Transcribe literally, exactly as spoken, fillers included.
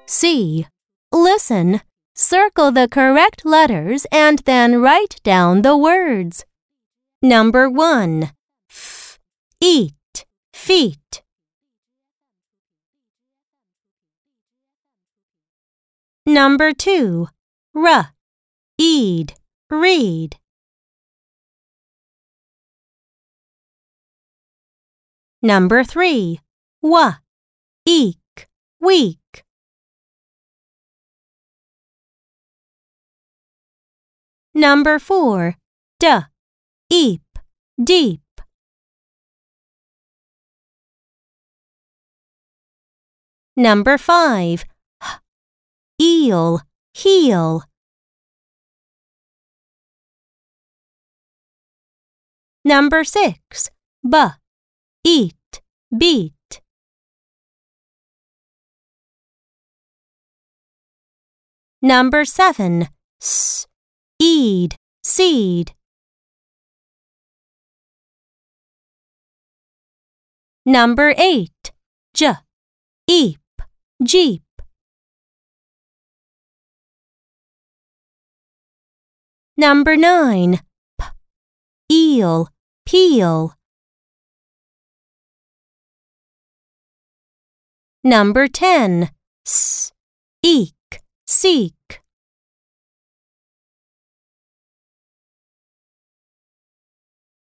C. Listen, circle the correct letters and then write down the words. Number one. F. Eat, feet. Number two. R. Eed, read. Number three. W. Eek, week. Number four. D. Eep, deep. Number five. H. Eel, heel. Number six. B. Eat, beat. Number seven. S. Eed, seed. Number eight. J. Eep, jeep. Number nine. P. Eel, peel. Number ten. S. Eek, seek.